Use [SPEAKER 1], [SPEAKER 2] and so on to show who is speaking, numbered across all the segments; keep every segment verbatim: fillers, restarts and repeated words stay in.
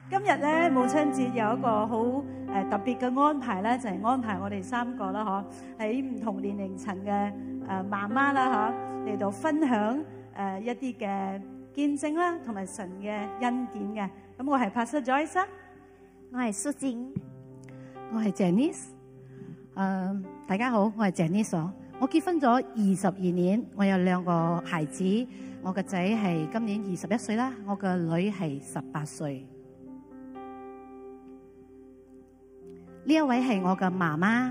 [SPEAKER 1] 今日咧母親節有一個好誒特別嘅安排咧，就係、是、安排我哋三個啦，嗬，喺唔同年齡層嘅誒媽媽啦，嗬，嚟到分享誒一啲嘅見證啦，同埋神嘅恩典嘅。咁我係 Pastor Joyce，
[SPEAKER 2] 我係蘇靜，
[SPEAKER 3] 我係 Janice。誒，大家好，我係 Janice。我結婚咗二十二年，我有兩個孩子，我個仔係今年二十一歲啦，我個女係十八歲。呢一位係我嘅媽媽。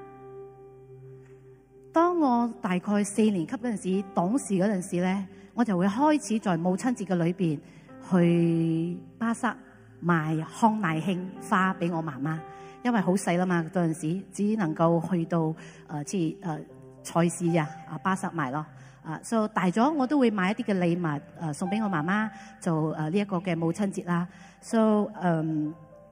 [SPEAKER 3] 當我大概四年級嗰陣時，懂事嗰陣時咧，我就會開始在母親節嘅裏邊去巴剎買康乃馨花俾我媽媽，因為好細啦嘛，嗰陣時只能夠去到誒即係誒菜市啊啊巴剎買咯。啊，所以大咗我都會買一啲嘅禮物誒送俾我媽媽，做誒呢一個嘅母親節啦。所以誒。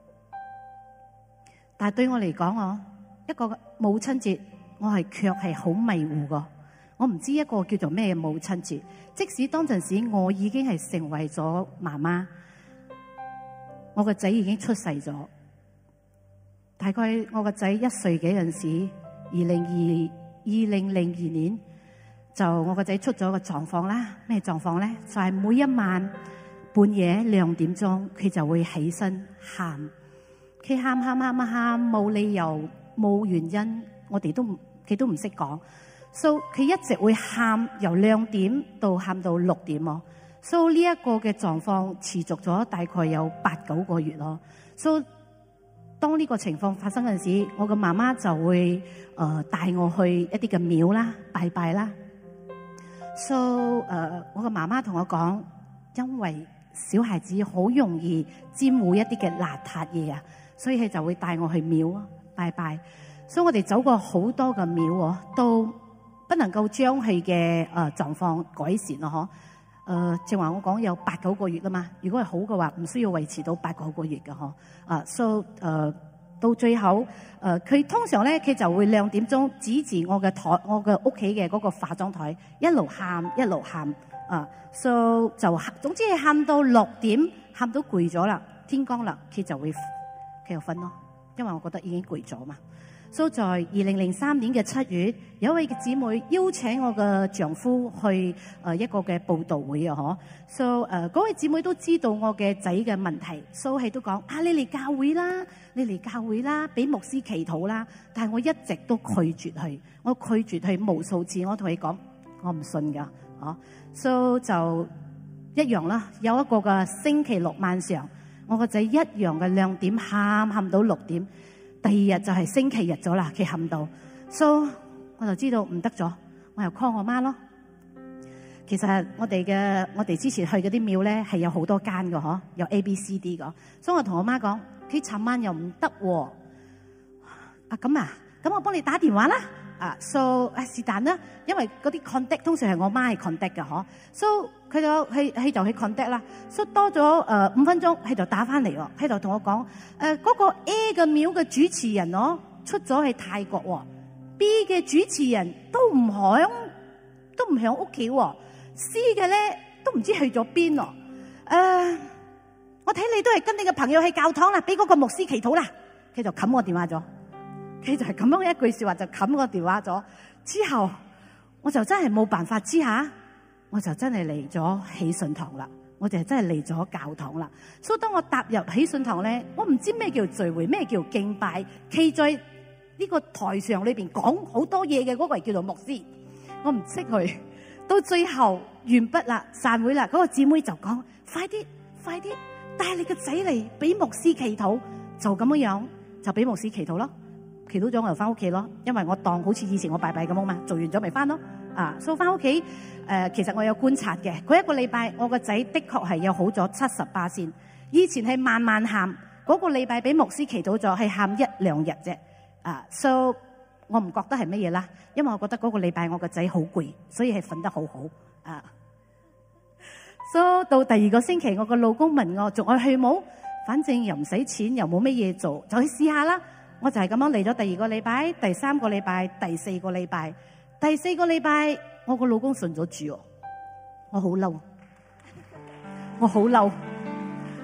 [SPEAKER 3] 但係對我嚟講，我一個母親節，我係卻係好迷糊噶。我唔知一個叫做咩母親節。即使當陣時我已經係成為咗媽媽，我個仔已經出世咗。大概我個仔一歲幾陣時，二零二二零零二年，就我個仔出咗個狀況啦。咩狀況咧？就係每一晚半夜兩點鐘，佢就會起身喊。佢喊喊喊喊，冇理由冇原因，我哋都佢都唔識講。So 佢一直會喊，由兩點到喊到六點咯。So 呢一個嘅狀況持續咗大概有八九個月咯。So 當呢個情況發生嗰陣時，我嘅媽媽就會誒帶我去一啲嘅廟啦，拜拜啦。So 誒，我嘅媽媽同我講，因為小孩子好容易沾污一啲嘅邋遢嘢啊。所以佢就會帶我去廟拜拜，所以我哋走過好多嘅廟，都不能夠將佢嘅誒狀況改善咯，嗬。誒，正話我講有八九個月啦嘛，如果係好嘅話，唔需要維持到八九個月嘅，嗬。啊，所以誒到最後誒，佢、呃、通常咧，佢就會兩點鐘指住我嘅台，我嘅屋企嘅嗰個化妝台，一路喊一路喊，啊，所以就總之係喊到六點，喊到攰咗啦，天光啦，佢就會。佢就瞓咯，因為我覺得已經攰咗嘛。所以在二零零三年嘅七月，有一位嘅姊妹邀請我嘅丈夫去誒一個嘅佈道會啊，嗬。所以誒嗰位姊妹都知道我嘅仔嘅問題，所以都講啊，你嚟教會啦，你嚟教會啦，俾牧師祈禱啦。但係我一直都拒絕佢，我拒絕佢無數次，我同佢講我唔信㗎，嗬。所以就一樣啦，有一個嘅星期六晚上。我個仔一樣嘅兩點喊喊到六點，第二日就係星期日咗啦，佢喊到，所以我就知道唔得咗，我又 call 我媽咯。其實我哋嘅我哋之前去嗰啲廟咧係有好多間嘅嗬，有 A、B、C、D 嘅，所以我同我媽講，佢尋晚又唔得喎。啊咁啊，咁我幫你打電話啦。啊 ，so 啊是但啦，因為嗰啲 contact 通常係我媽係 contact 嘅嗬，so 佢就佢佢就去 contact 啦，so 多咗誒五分鐘，佢就打翻嚟喎，佢就同我講誒嗰個 A 嘅廟嘅主持人咯出咗去泰國喎 ，B 嘅主持人都唔響都唔響屋企喎 ，C 嘅咧都唔知去咗邊咯，誒我睇你都係跟你嘅朋友去教堂啦，俾嗰個牧師祈禱啦，佢就冚我電話咗。佢就係咁樣一句說話就冚個電話咗，之後我就真係冇辦法之下，我就真係嚟咗喜信堂啦，我就真係嚟咗教堂啦。所以當我踏入喜信堂咧，我唔知咩叫聚會，咩叫敬拜，企在呢個台上裏邊講好多嘢嘅嗰個係叫做牧師，我唔識佢。到最後完畢啦，散會啦，嗰個姊妹就講：快啲，快啲帶你個仔嚟俾牧師祈禱，就咁樣樣就俾牧師祈禱咯。祈禱咗我就翻屋企咯，因為我當好似以前我拜拜咁啊嘛，做完咗咪翻咯。啊，所以翻屋企誒，其實我有觀察嘅，嗰一個禮拜我個仔的確係有好咗七十八先。以前係慢慢喊，嗰個禮拜俾牧師祈禱咗係喊一兩日啫。啊，所以我唔覺得係乜嘢啦，因為我覺得嗰個禮拜我個仔好攰，所以係瞓得好好。啊，所以到第二個星期，我個老公問我仲愛去冇？反正又唔使錢，又冇乜嘢做，就去試下啦。我就係咁樣嚟咗第二個禮拜、第三個禮拜、第四個禮拜、第四個禮拜，我個老公信咗主，我好嬲，我好嬲，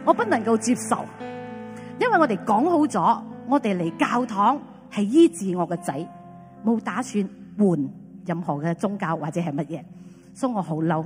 [SPEAKER 3] 我不能夠接受，因為我哋講好咗，我哋嚟教堂係醫治我個仔，冇打算換任何嘅宗教或者係乜嘢，所以我好嬲。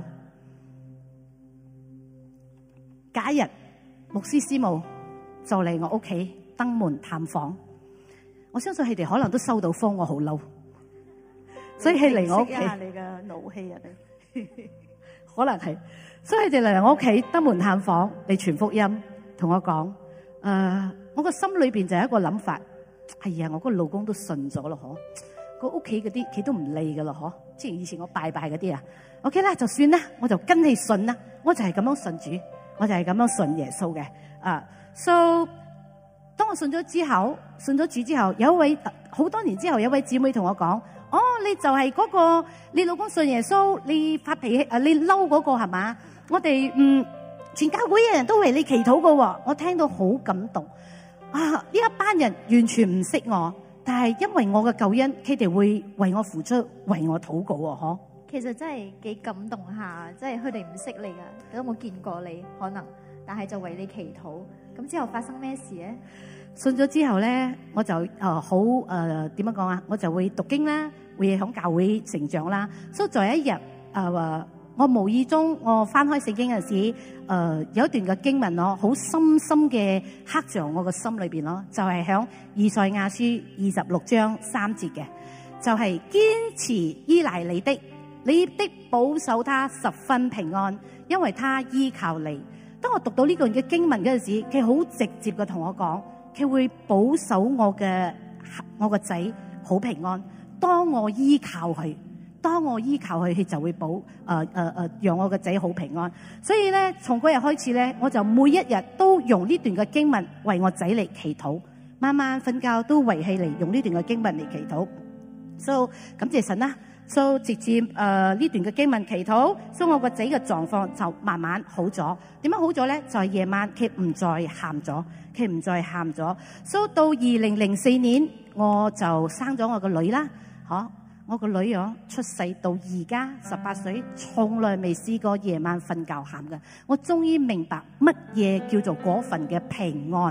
[SPEAKER 3] 假日牧師師母就嚟我屋企登門探訪，我相信佢哋可能都收到風，我好嬲，所以佢嚟我屋企。
[SPEAKER 1] 平息一下你嘅怒氣啊！你
[SPEAKER 3] 可能係，所以佢哋嚟我屋企登門探訪嚟傳福音，同我講：誒、呃，我個心裏邊就有一個諗法，哎呀，我個老公都信咗咯，嗬，個屋企嗰啲佢都唔理噶咯，嗬，之前以前我拜拜嗰啲啊 ，OK 啦，就算啦，我就跟你信啦，我就係咁樣信主，我就係咁樣信耶穌嘅，啊、uh,，so 當我信咗之後，信咗主之後，有一位好多年之後，有一位姊妹同我講。哦，你就係嗰、那個你老公信耶穌，你發脾氣啊，你嬲嗰個係嘛？我哋嗯全教會嘅人都為你祈禱噶，我聽到好感動啊！呢一班人完全唔識我，但係因為我嘅救恩，佢哋會為我付出，為我禱告喎，嗬。
[SPEAKER 2] 其實真係幾感動下，即係佢哋唔識你噶，都冇見過你可能，但係就為你祈禱。咁之後發生咩事咧？
[SPEAKER 3] 信咗之後咧，我就誒好誒點樣講啊？我就會讀經啦，會響教會成長啦。所以在一日誒、呃，我無意中我翻開聖經嗰陣時，誒、呃、有一段嘅經文咯，好深深嘅刻在我個心裏邊咯，就係響以賽亞書二十六章三節嘅，就係、是、堅持依賴你的，你的保守他十分平安，因為他依靠你。當我讀到呢段嘅經文嗰陣時，佢好直接嘅同我講。佢會保守我嘅我個仔好平安。當我依靠佢，當我依靠佢，佢就會保誒誒誒，讓我個仔好平安。所以咧，從嗰日開始咧，我就每一日都用呢段嘅經文為我仔嚟祈禱。晚晚瞓覺都為佢嚟用呢段嘅經文嚟祈禱。So 感謝神啦。So 直接誒呢、呃、段嘅經文祈禱，所以我個仔嘅狀況就慢慢好咗。點樣好咗咧？就係、是、夜晚佢唔再喊咗。佢唔再喊咗，所以到二零零四年我就生咗我個女啦，嗬，我個女啊出世到而家十八歲，從來未試過夜晚瞓覺喊嘅。我終於明白乜嘢叫做嗰份嘅平安。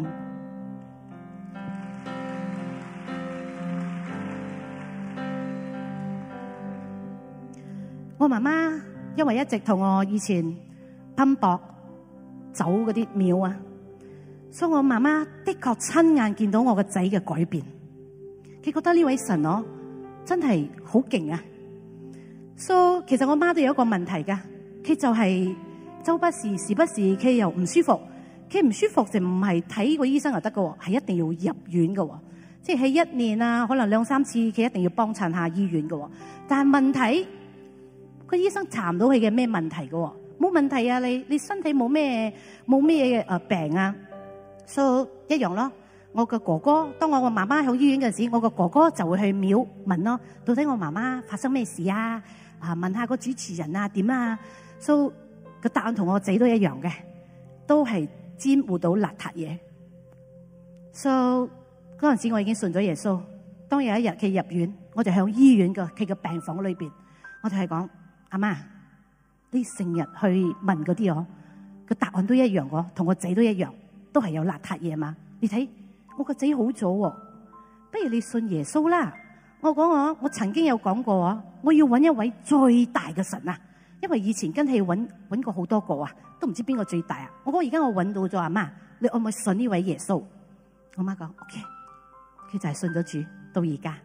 [SPEAKER 3] 我媽媽因為一直同我以前奔波走嗰啲廟啊。所以我媽媽的確親眼見到我個仔嘅改變，佢覺得呢位神哦真係好勁啊！所以其實我媽都有一個問題噶，佢就係周不時時不時佢又唔舒服，佢唔舒服就唔係睇個醫生就得噶，係一定要入院噶，即係喺一年啊，可能兩三次佢一定要幫襯下醫院噶。但係問題個醫生查唔到佢嘅咩問題噶，冇問題啊，你你身體冇咩冇咩誒病啊？所以一樣咯，我個哥哥，當我個媽媽喺醫院嗰陣時，我個哥哥就會去廟問咯，到底我媽媽發生咩事啊？啊，問下個主持人啊點啊？所以個答案同我仔都一樣嘅，都係沾污到邋遢嘢。所以嗰陣時我已經信咗耶穌。當有一日佢入院，我就喺醫院嘅佢嘅病房裏邊，我就係講阿媽，你成日去問嗰啲我個答案都一樣個，同我仔都一樣。都係有邋遢嘢嘛？你睇我個仔好咗，不如你信耶穌啦。我講我，我曾經有講過啊，我要揾一位最大嘅神啊，因為以前跟佢揾揾過好多個啊，都唔知邊個最大啊。我講而家我揾到咗，阿媽，你可唔可以信呢位耶穌？我媽講 OK，佢就係信咗主到而家。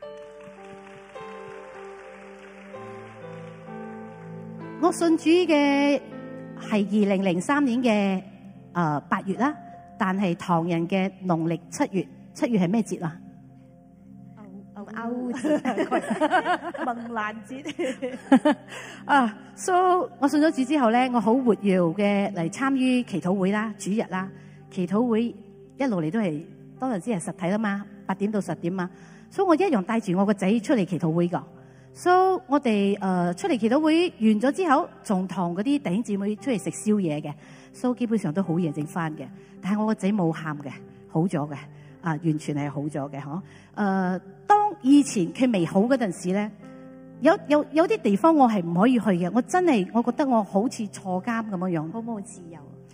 [SPEAKER 3] 我信主嘅係二零零三年嘅誒八月啦。但係唐人嘅農曆七月，七月係咩節啊？
[SPEAKER 2] 歐歐節，
[SPEAKER 1] 孟蘭節
[SPEAKER 3] 啊！所以我信咗主之後咧，我好活躍嘅嚟參與祈禱會啦、主日啦。祈禱會一路嚟都係當陣時係實體啦嘛，八點到十點嘛。所以我一樣帶住我個仔出嚟祈禱會噶。所以我哋誒出嚟祈禱會完咗之後，仲同嗰啲弟兄姊妹出嚟食宵夜嘅。所以基本上都好夜整翻嘅，但係我個仔冇喊嘅，好咗嘅，啊，完全係好咗嘅，嗬。誒、呃，當以前佢未好嗰陣時咧，有有有啲地方我係唔可以去嘅，我真係我覺得我好似坐監咁樣樣，
[SPEAKER 2] 好冇自由，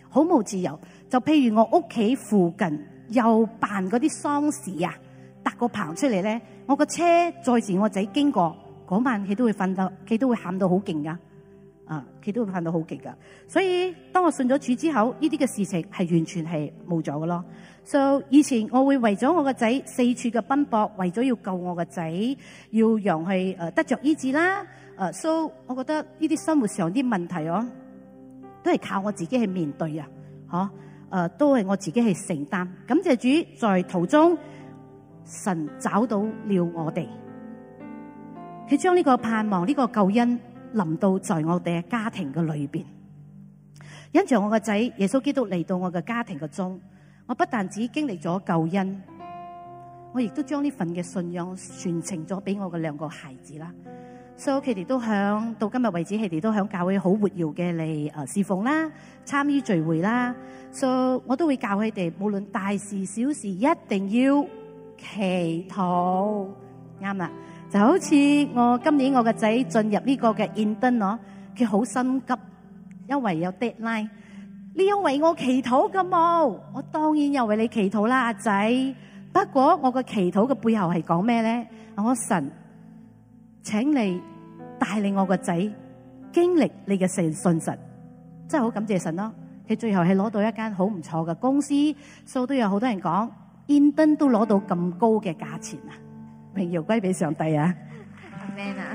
[SPEAKER 3] 好冇自由。就譬如我屋企附近又辦嗰啲喪事啊，搭個棚出嚟咧，我個車載住我仔經過嗰晚，佢都會瞓到，佢都會喊到好勁噶，啊，佢都會喊到好勁噶。所以當我信咗主之後，呢啲嘅事情係完全係冇咗嘅咯。So 以前我會為咗我個仔四處嘅奔波，為咗要救我個仔，要讓佢誒得着醫治啦。誒，so 我覺得呢啲生活上啲問題哦，都係靠我自己去面對啊，嗬。誒，都係我自己去承擔。感謝主，在途中神找到了我哋，佢將呢個盼望、呢個救恩臨到在我哋嘅家庭嘅裏邊。因着我個仔耶穌基督嚟到我嘅家庭嘅中，我不但只經歷咗救恩，我亦都將呢份嘅信仰傳承咗俾我嘅兩個孩子啦。所以佢哋都響到今日為止，佢哋都響教會好活躍嘅嚟誒侍奉啦、參與聚會啦。所以我都會教佢哋，無論大事小事，一定要祈禱。啱啦，就好似我今年我個仔進入呢個嘅 intern 咯，佢好心急，因為有 deadline。你有為我祈禱噶冇？我當然有為你祈禱啦，阿仔。不過我個祈禱嘅背後係講咩咧？我神請你帶領我個仔經歷你嘅信信實，真係好感謝神咯。佢最後係攞到一間好唔錯嘅公司，所以都有好多人講 intern 都攞到咁高嘅價錢啊！榮耀歸俾上帝啊！
[SPEAKER 2] 阿們啊！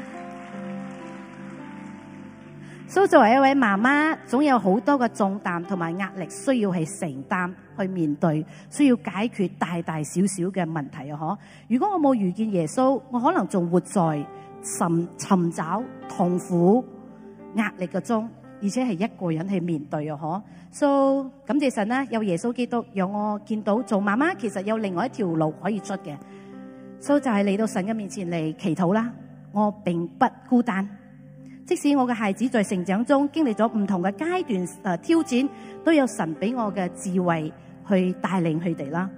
[SPEAKER 3] 所以作為一位媽媽，總有好多嘅重擔同埋壓力需要去承擔、去面對，需要解決大大小小嘅問題啊！嗬！如果我冇遇見耶穌，我可能仲活在尋尋找痛苦、壓力嘅中，而且係一個人去面對啊！嗬！所以感謝神啦，有耶穌基督，讓我見到做媽媽其實有另外一條路可以出嘅。所以就係嚟到神嘅面前嚟祈禱啦，我並不孤單。即使我嘅孩子在成長中經歷咗唔同嘅階段誒挑戰，都有神俾我嘅智慧去帶領佢哋啦。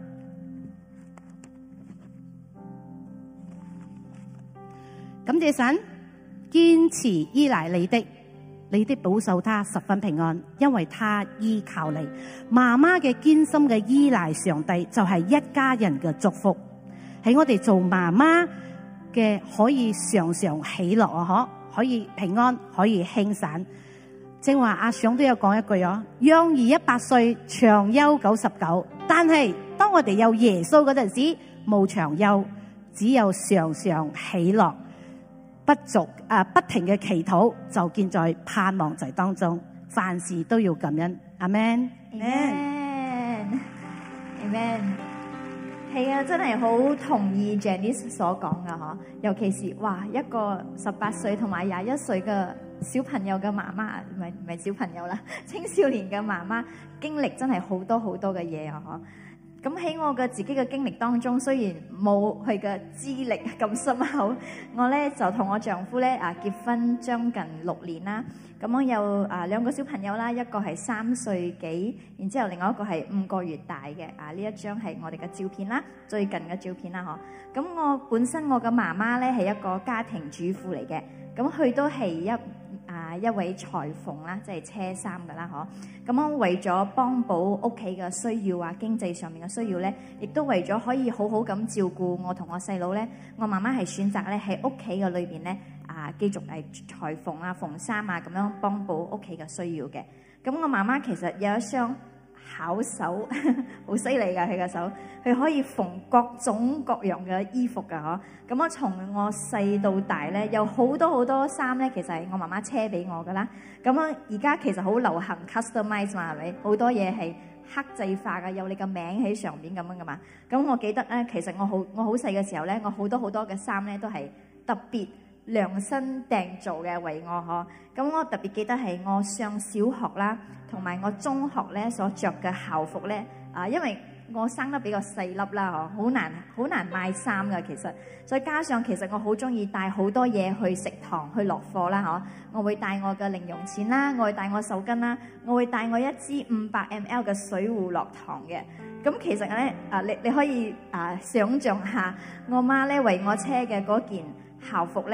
[SPEAKER 3] 感謝神，堅持依賴你的，你的保守他十分平安，因為他依靠你。媽媽嘅堅心嘅依賴上帝，就係一家人嘅祝福。喺我哋做媽媽嘅可以常常喜樂啊！嗬。可以平安，可以輕散。正話阿想都有講一句哦，養兒一百歲，長憂九十九。但係當我哋有耶穌嗰陣時，冇長憂，只有常常喜樂，不足啊，不停嘅祈禱，就建在盼望在當中。凡事都要感恩。阿們，
[SPEAKER 2] 阿們，阿們。係啊，真係好同意 Janice 所講噶嗬，尤其是哇一個十八歲同埋廿一歲嘅小朋友嘅媽媽，唔係唔係小朋友啦，青少年嘅媽媽經歷真係好多好多嘅嘢啊嗬。咁喺我嘅自己嘅經歷當中，雖然冇佢嘅資歷咁深厚，我咧就同我丈夫咧啊結婚將近六年啦。咁我有啊兩個小朋友啦，一個係三歲幾，然之後另外一個係五個月大嘅。啊呢一張係我哋嘅照片啦，最近嘅照片啦嗬。咁我本身我嘅媽媽咧係一個家庭主婦嚟嘅，咁佢都係一啊一位裁縫啦，即係車衫噶啦嗬。咁我為咗幫補屋企嘅需要啊，經濟上面嘅需要咧，亦都為咗可以好好咁照顧我同我細佬咧，我媽媽係選擇咧喺屋企嘅裏邊咧。啊，繼續係裁縫啊、縫衫啊，咁樣幫補屋企嘅需要嘅。咁我媽媽其實有一雙巧手，好犀利㗎佢嘅手，佢可以縫各種各樣嘅衣服㗎嗬。咁我從我細到大咧，有好多好多衫咧，其實係我媽媽車俾我㗎啦。咁樣而家其實好流行 customize 嘛，係咪？好多嘢係刻製化嘅，有你嘅名喺上邊咁樣㗎嘛。咁我記得咧，其實我好我好細嘅時候咧，我好多好多嘅衫咧都係特別量身訂做嘅為我嗬，咁我特別記得係我上小學啦，同埋我中學咧所着嘅校服咧，啊，因為我生得比較細粒啦嗬，好難好難買衫噶其實，再加上其實我好中意帶好多嘢去食堂去落課啦嗬，我會帶我嘅零用錢啦，我會帶我手巾啦，我會帶我一支五百 M L 嘅水壺落堂嘅。咁其實咧啊，你你可以啊想像下，我媽咧為我車嘅嗰件校服咧，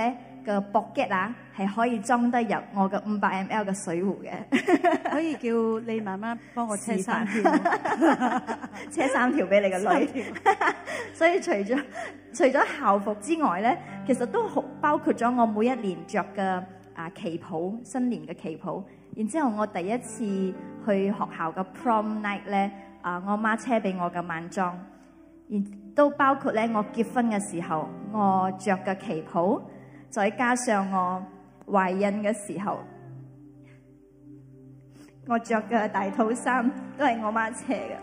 [SPEAKER 2] 嘅 pocket 啊，係可以裝得入我嘅五百 ml 嘅水壺嘅。
[SPEAKER 1] 可以叫你媽媽幫我車三條，
[SPEAKER 2] 車三條俾你個女。所以除咗除咗校服之外咧，其實都好包括咗我每一年着嘅啊旗袍，新年嘅旗袍。然之後我第一次去學校嘅 prom night 咧，啊我媽車俾我嘅晚裝，然都包括咧我結婚嘅時候我着嘅旗袍，再加上我懷孕嘅時候我着嘅大肚衫都係我媽車嘅。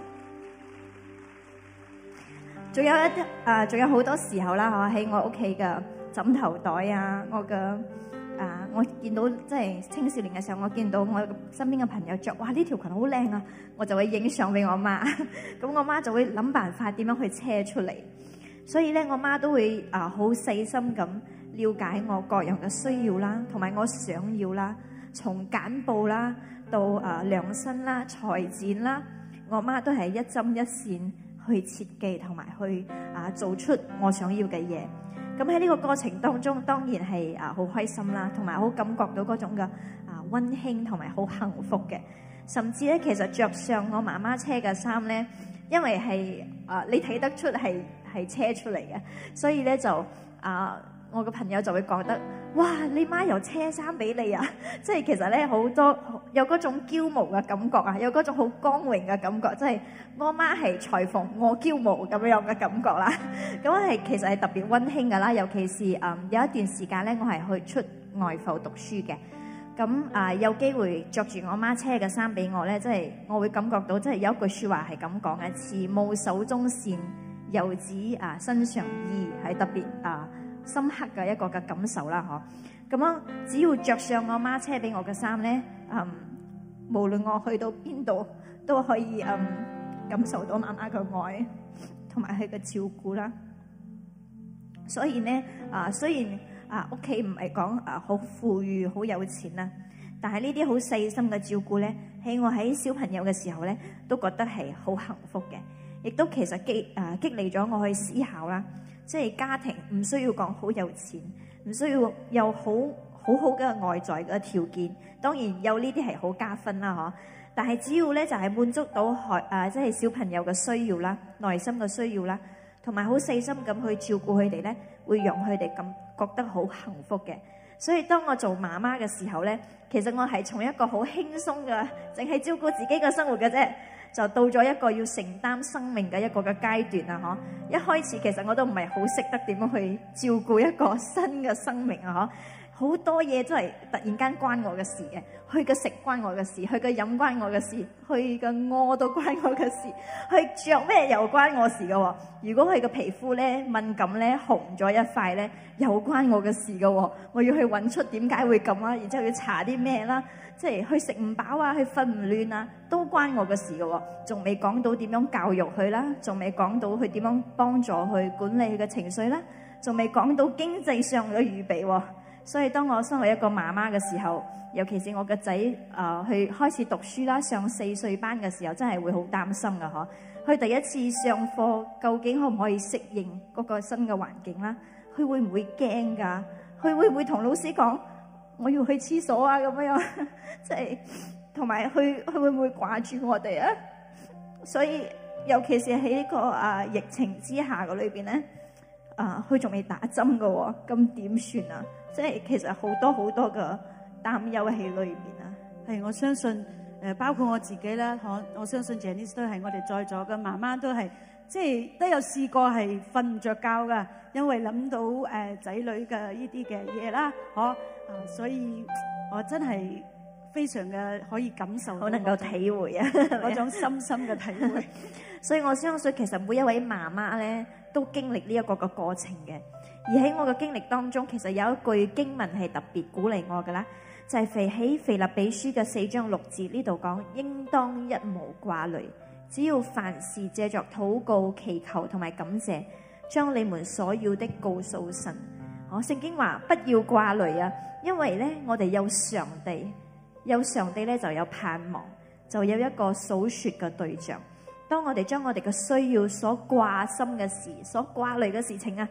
[SPEAKER 2] 仲有一啊，仲有好多時候啦，喺我屋企嘅枕頭袋啊，我嘅啊，我見到即係青少年嘅時候，我見到我身邊嘅朋友着，哇呢條裙好靚啊，我就會影相俾我媽，咁我媽就會諗辦法點樣去車出嚟。所以咧，我媽都會啊好細心咁了解我各樣嘅需要啦，同埋我想要啦，從揀布啦到啊量身啦、裁剪啦，我媽都係一針一線去設計同埋去啊做出我想要嘅嘢。咁喺呢個過程當中，當然係啊好開心啦，同埋好感覺到嗰種嘅啊溫馨同埋好幸福嘅。甚至咧，其實着上我媽媽車嘅衫咧，因為係啊你睇得出係係車出嚟嘅，所以咧就啊我個朋友就會覺得，哇！你媽又車衫俾你啊！即係其實咧好多有嗰種驕傲嘅感覺啊，有嗰種好光榮嘅感覺，即係我媽係裁縫，我驕傲咁樣嘅感覺啦。咁係其實係特別溫馨噶啦，尤其是嗯有一段時間咧，我係去出外埠讀書嘅。咁啊有機會着住我媽車嘅衫俾我咧，即係我會感覺到，即係有一句説話係咁講嘅：慈母手中線，遊子啊身上衣，係特別啊深刻嘅一個嘅感受啦，嗬。咁樣只要着上我媽車俾我嘅衫咧，嗯，無論我去到邊度都可以嗯感受到媽媽嘅愛同埋佢嘅照顧啦。所以咧啊，雖然啊屋企唔係講啊好富裕好有錢啦，但係呢啲好細心嘅照顧咧，喺我喺小朋友嘅時候咧，都覺得係好幸福嘅，亦都其實激啊激勵咗我去思考啦。即係家庭唔需要講好有錢，唔需要有好好好嘅外在嘅條件，當然有呢啲係好加分啦，嗬。但係只要咧就係滿足到學啊，即係小朋友嘅需要啦、內心嘅需要啦，同埋好細心咁去照顧佢哋咧，會讓佢哋咁覺得好幸福嘅。所以當我做媽媽嘅時候咧，其實我係從一個好輕鬆嘅，淨係照顧自己嘅生活嘅啫，就到咗一個要承擔生命嘅一個嘅階段啊！嗬，一開始其實我都唔係好識得點樣去照顧一個新嘅生命啊！嗬，好多嘢都係突然間關我嘅事嘅，佢嘅食關我嘅事，佢嘅飲關我嘅事，佢嘅屙都關我嘅事，佢着咩又關我事嘅喎。如果佢嘅皮膚咧敏感咧紅咗一塊咧，又關我嘅事嘅喎。我要去揾出點解會咁啊，然之後要搽啲咩啦。即係佢食唔飽啊，佢瞓唔暖啊，都關我嘅事嘅喎。仲未講到點樣教育佢啦，仲未講到佢點樣幫助佢管理佢嘅情緒啦，仲未講到經濟上嘅預備喎。所以當我身為一個媽媽嘅時候，尤其是我個仔啊去開始讀書啦，上四歲班嘅時候，真係會好擔心嘅嗬。佢第一次上課，究竟可唔可以適應嗰個新嘅環境啦？佢會唔會驚㗎？佢會唔會同老師講我要去廁所啊？咁樣即係同埋佢佢會唔會掛住我哋啊？所以尤其是喺呢個啊疫情之下嘅裏邊咧，啊佢仲未打針嘅喎，咁點算啊？即係其實好多好多嘅擔憂喺裏邊啊。
[SPEAKER 1] 係我相信誒，包括我自己啦，我我相信 Janice 都係我哋在座嘅媽媽都係，即係都有試過係瞓唔着覺㗎，因為諗到誒仔女嘅呢啲嘅嘢啦，嗬啊，所以我真係非常嘅可以感受到，
[SPEAKER 2] 好能夠體會啊
[SPEAKER 1] 嗰種深深嘅體會。
[SPEAKER 2] 所以我相信其實每一位媽媽咧都經歷呢一個嘅過程嘅。而喺我嘅經歷當中，其實有一句經文係特別鼓勵我嘅啦，就係肥喺腓立比書嘅四章六節呢度講，應當一無掛慮，只要凡事借着禱告、祈求同埋感謝，將你們所要的告訴神。我聖經話不要掛慮啊，因為咧我哋有上帝，有上帝咧就有盼望，就有一個數說嘅對象。當我哋將我哋嘅需要所掛心嘅事、所掛慮嘅事情啊，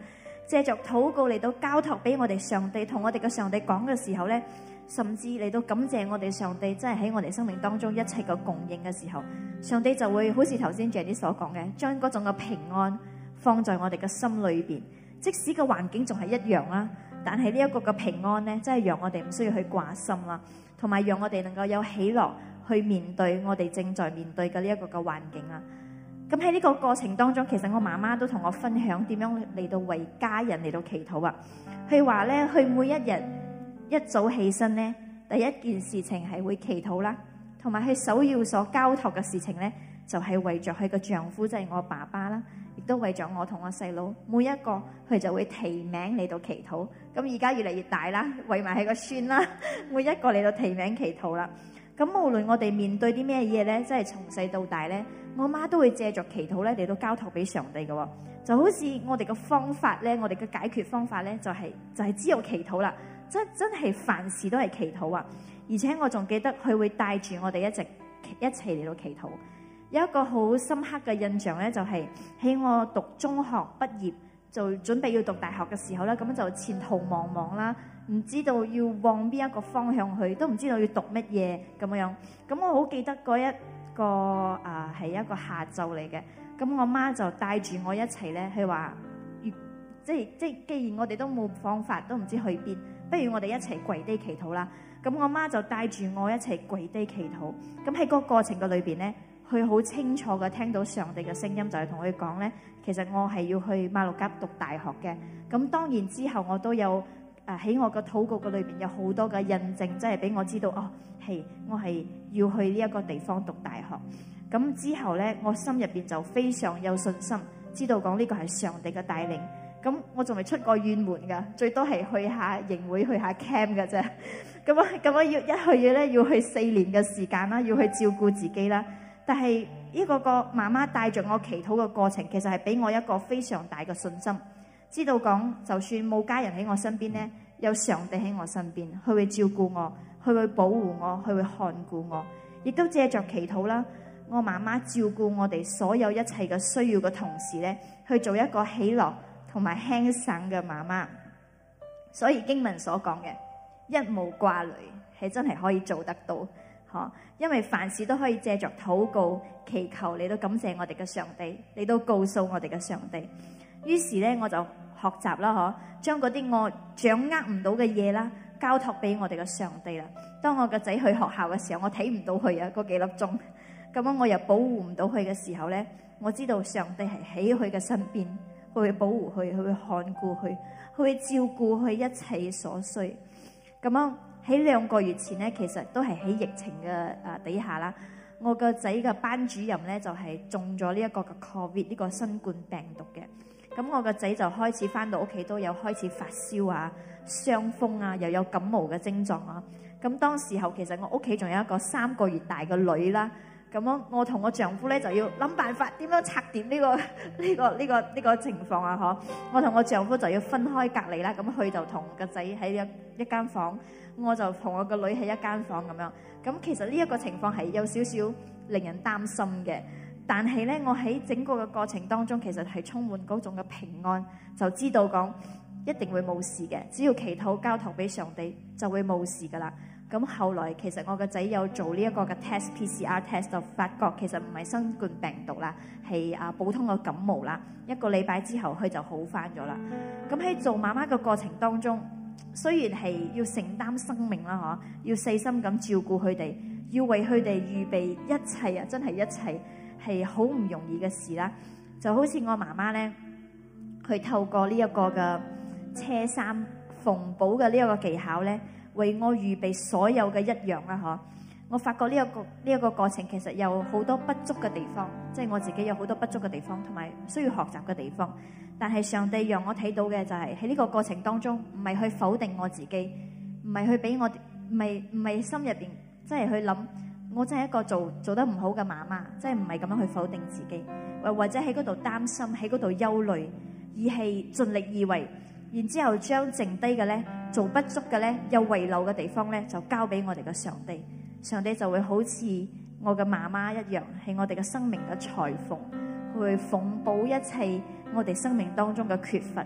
[SPEAKER 2] 借着禱告嚟到交託俾我哋上帝，同我哋嘅上帝講嘅時候咧，甚至嚟到感謝我哋上帝，真係喺我哋生命當中一切嘅供應嘅時候，上帝就會好似頭先 Jenny 所講嘅，將嗰種嘅平安放在我哋嘅心裏邊。即使個環境仲係一樣啦，但係呢一個嘅平安咧，真係讓我哋唔需要去掛心啦，同埋讓我哋能夠有喜樂去面對我哋正在面對嘅呢一個嘅環境啦。咁喺呢個過程當中，其實我媽媽都同我分享點樣嚟到為家人嚟到祈禱啊。佢話咧，佢每一日一早起身咧，第一件事情係會祈禱啦，同埋佢首要所交託嘅事情咧，就係為着佢嘅丈夫，即係我爸爸啦，亦都為咗我同我細佬，每一個佢就會提名嚟到祈禱。咁而家越嚟越大啦，為埋佢個孫啦，每一個嚟到提名祈禱啦。咁無論我哋面對啲咩嘢咧，即係從細到大咧，我媽都會借着祈禱咧嚟到交託俾上帝嘅。就好似我哋嘅方法咧，我哋嘅解決方法咧，就係就係只有祈禱啦。真真係凡事都係祈禱啊！而且我仲記得佢會帶住我哋一直一齊嚟到祈禱。有一個好深刻嘅印象咧，就係喺我讀中學畢業，就準備要讀大學嘅時候咧，咁就前途茫茫啦，唔知道要往邊一個方向去，都唔知道要讀乜嘢咁樣。咁我好記得嗰一個啊係一個下晝嚟嘅，咁我媽就帶住我一齊咧，佢話，即係即係，既然我哋都冇方法，都唔知去邊，不如我哋一齊跪低祈禱啦。咁我媽就帶住我一齊跪低祈禱。咁喺個過程嘅裏邊咧，佢好清楚嘅聽到上帝嘅聲音，就係同佢講咧，其實我係要去馬六甲讀大學嘅。咁當然之後我都有誒喺我個禱告嘅裏邊有好多嘅印證，即係俾我知道哦，係我係要去呢一個地方讀大學。咁之後咧，我心入邊就非常有信心，知道講呢個係上帝嘅帶領。咁我仲未出過遠門噶，最多係去下營會、去下 camp 嘅啫。咁啊，咁我要一去嘢咧，要去四年嘅時間啦，要去照顧自己啦。但係呢個個媽媽帶着我祈禱嘅過程，其實係俾我一個非常大嘅信心，知道講就算冇家人喺我身邊咧，有上帝喺我身邊，佢會照顧我，佢會保護我，佢會看顧我，亦都借着祈禱啦。我媽媽照顧我哋所有一切嘅需要嘅同時咧，去做一個喜樂同埋輕省嘅媽媽。所以經文所講嘅一無掛慮係真係可以做得到，嗬！因為凡事都可以借着禱告祈求嚟到感謝我哋嘅上帝，嚟到告訴我哋嘅上帝。於是咧，我就學習啦，嗬，將嗰啲我掌握唔到嘅嘢啦，交託俾我哋嘅上帝啦。當我個仔去學校嘅時候，我睇唔到佢啊，嗰幾粒鐘。咁樣我又保護唔到佢嘅時候咧，我知道上帝係喺佢嘅身邊，佢會保護佢，佢會看顧佢，佢會照顧佢一切所需。咁樣喺兩個月前咧，其實都係喺疫情嘅啊底下啦。我個仔嘅班主任咧就係中咗呢一個嘅 Covid 呢個新冠病毒嘅。咁我個仔就開始翻到屋企都有開始發燒啊、傷風啊，又有感冒嘅症狀啊。咁當時候其實我屋企仲有一個三個月大嘅女啦。咁樣我同我丈夫咧就要諗辦法點樣拆掂呢個呢個呢個呢個情況啊！嗬，我同我丈夫就要分開隔離啦。咁佢就同個仔喺一一間房，我就同我個女喺一間房咁樣。咁其實呢一個情況係有少少令人擔心嘅，但係咧我喺整個嘅過程當中，其實係充滿嗰種嘅平安，就知道講一定會冇事嘅，只要祈禱交託俾上帝就會冇事噶啦。咁後來其實我個仔有做呢一個嘅 test P C R test， 就發覺其實唔係新冠病毒啦，係啊普通嘅感冒啦。一個禮拜之後佢就好翻咗啦。咁喺做媽媽嘅過程當中，雖然係要承擔生命啦，嗬，要細心咁照顧佢哋，要為佢哋預備一切啊，真係一切係好唔容易嘅事啦。就好似我媽媽咧，佢透過呢一個嘅車衫縫補嘅呢一個技巧咧，為我預備所有嘅一樣啦，嗬！我發覺呢一個呢一個過程其實有好多不足嘅地方，即係我自己有好多不足嘅地方，同埋需要學習嘅地方。但係上帝讓我睇到嘅就係喺呢個過程當中，唔係去否定我自己，唔係去俾我，唔係唔係心入邊即係去諗，我真係一個做做得唔好嘅媽媽，即係唔係咁樣去否定自己，或或者喺嗰度擔心，喺嗰度憂慮，而係盡力而為。然之後將剩低嘅咧，做不足嘅咧，有遺漏嘅地方咧，就交俾我哋嘅上帝。上帝就會好似我嘅媽媽一樣，係我哋嘅生命嘅裁縫，佢會縫補一切我哋生命當中嘅缺乏，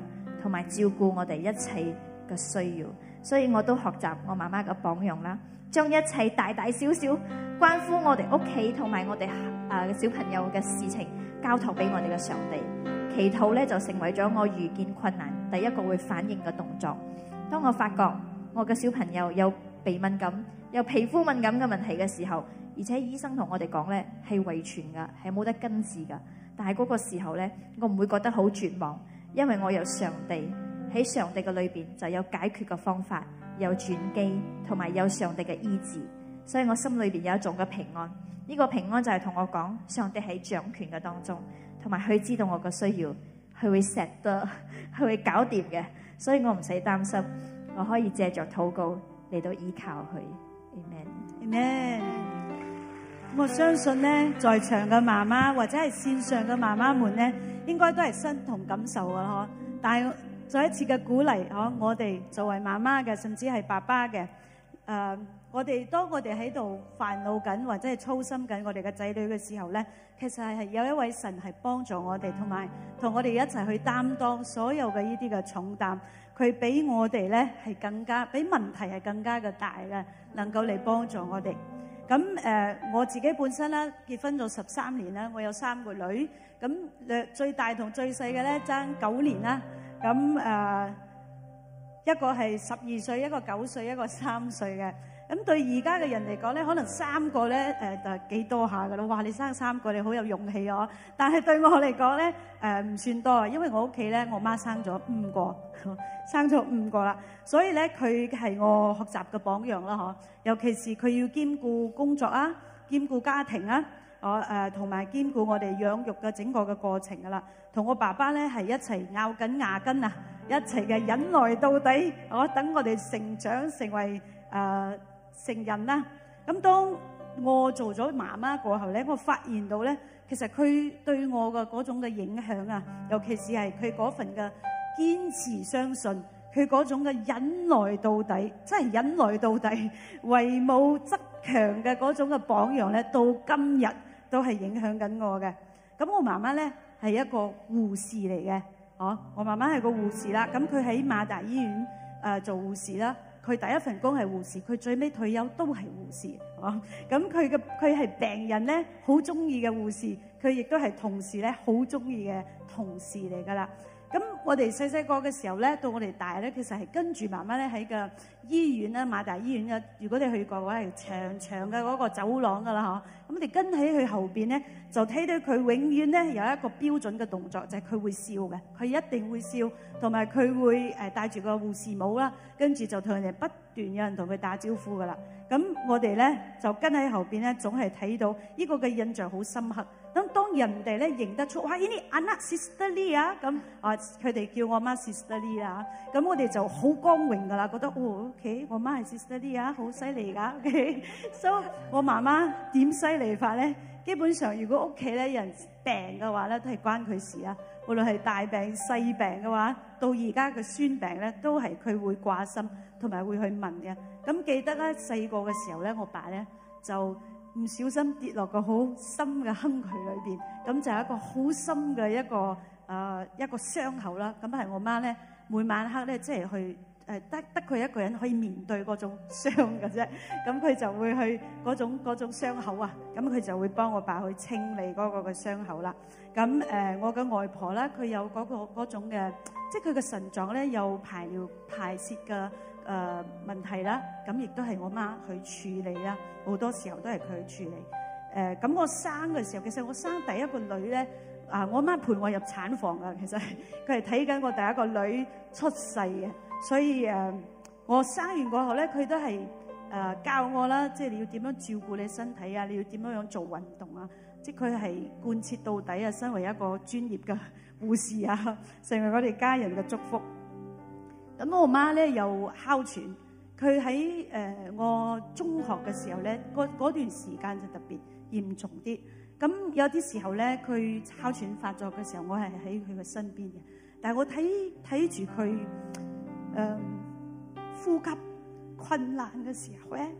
[SPEAKER 2] 同埋照顧我哋一切嘅需要。所以我都學習我媽媽嘅榜樣啦，將一切大大小小關乎我哋屋企同埋我哋誒小朋友嘅事情交託俾我哋嘅上帝。祈禱咧就成為咗我遇見困難第一個會反應嘅動作。當我發覺我嘅小朋友有鼻敏感、有皮膚敏感嘅問題嘅時候，而且醫生同我哋講咧係遺傳噶，係冇得根治噶。但係嗰個時候咧，我唔會覺得好絕望，因為我有上帝，喺上帝嘅裏邊就有解決嘅方法，有轉機，同埋有上帝嘅醫治，所以我心裏邊有一種嘅平安。呢個平安就係同我講，上帝喺掌權嘅當中，同埋佢知道我嘅需要，佢會錫得，佢會搞掂嘅，所以我唔使擔心，我可以借着禱告嚟到依靠佢。Amen。
[SPEAKER 1] Amen。我相信咧，在場嘅媽媽或者係線上嘅媽媽們咧，應該都係身同感受嘅嗬。但係再一次嘅鼓勵嗬，我哋作為媽媽嘅，甚至係爸爸嘅，誒、呃，我哋當我哋喺度煩惱緊或者係操心緊我哋嘅仔女嘅時候咧，其實係有一位神係幫助我哋，同埋同我哋一齊去擔當所有嘅呢啲嘅重擔。佢比我哋咧係更加，比問題係更加嘅大嘅，能夠嚟幫助我哋。咁誒、呃，我自己本身咧結婚咗十三年啦，我有三個女，咁誒最大同最細嘅咧爭九年啦。咁誒、呃、一個係十二歲，一個九歲，一個三歲嘅。咁對而家嘅人嚟講咧，可能三個咧誒就幾多下噶啦。哇！你生三個，你好有勇氣哦。但係對我嚟講咧誒唔算多，因為我屋企咧我媽生咗五個，生咗五個啦。所以咧佢係我學習嘅榜樣啦，嗬。尤其是佢要兼顧工作啊，兼顧家庭啊，我誒同埋兼顧我哋養育嘅整個嘅過程噶啦。同我爸爸咧係一齊咬緊牙根啊，一齊嘅忍耐到底。我等我哋成長成為誒、呃、成人啦。咁當我做咗媽媽過後咧，我發現到咧，其實佢對我嘅嗰種嘅影響啊，尤其是係佢嗰份嘅堅持相信，佢嗰種嘅忍耐到底，真係忍耐到底，為母則強嘅嗰種嘅榜樣咧，到今日都係影響緊我嘅。咁我媽媽咧係一個護士嚟嘅，哦，我媽媽係個護士啦。咁佢喺馬大醫院誒、呃、做護士啦。佢第一份工係護士，佢最尾退休都係護士。哦，咁佢嘅佢係病人咧好中意嘅護士，佢亦都係同事咧好中意嘅同事嚟噶啦。咁我哋細細個嘅時候咧，到我哋大咧，其實係跟住媽媽咧喺個醫院啦，馬大醫院嘅。如果你去過嘅話，係長長嘅嗰個走廊噶啦，嗬。咁我哋跟喺佢後邊咧，就睇到佢永遠咧有一個標準嘅動作，就係佢會笑嘅，佢一定會笑，同埋佢會誒戴住個護士帽啦，跟住就同人哋不斷有人同佢打招呼噶啦。咁我哋咧就跟喺後邊咧，總係睇到呢個嘅印象好深刻。咁當人哋咧認得出，哇！呢啲 Anak Sister Lee 啊，咁啊佢哋叫我媽 Sister Lee 啦，咁我哋就好光榮噶啦，覺得哦 OK， 我媽係 Sister Lee 啊，好犀利噶 OK。所以我媽媽點犀利法咧？基本上如果屋企咧有人病嘅話咧，都係關佢事啊。無論係大病細病嘅話，到而家嘅孫病咧，都係佢會掛心，同埋會去問嘅。咁記得咧細個嘅時候咧，我爸咧就唔小心跌落個好深嘅坑渠裏邊，咁就係一個好深嘅一個誒、呃、一個傷口啦。咁係我媽咧每晚黑咧即係去誒、呃、得得佢一個人可以面對嗰種傷嘅啫。咁佢就會去嗰種嗰種傷口啊，咁佢就會幫我爸去清理嗰個嘅傷口啦。咁誒、呃、我嘅外婆咧，佢有嗰、嗰個嗰種嘅，即係佢嘅腎臟咧有排尿排泄嘅。誒、呃、問題啦，咁亦都係我媽去處理啦，好多時候都係佢去處理。誒、呃、咁我生嘅時候，其實我生第一個女咧，啊、呃、我媽陪我入產房噶，其實佢係睇緊我第一個女出世嘅，所以誒、呃、我生完過後咧，佢都係誒、呃、教我啦，即係你要點樣照顧你身體啊，你要點樣樣做運動啊，即係佢係貫徹到底啊，身為一個專業嘅護士啊，成為我哋家人嘅祝福。咁我媽咧又哮喘，佢喺誒我中學嘅時候咧，嗰段時間就特別嚴重啲。咁有啲時候咧，佢哮喘發作嘅時候，我係喺佢嘅身邊嘅。但係我睇睇住佢誒呼吸困難嘅時候咧，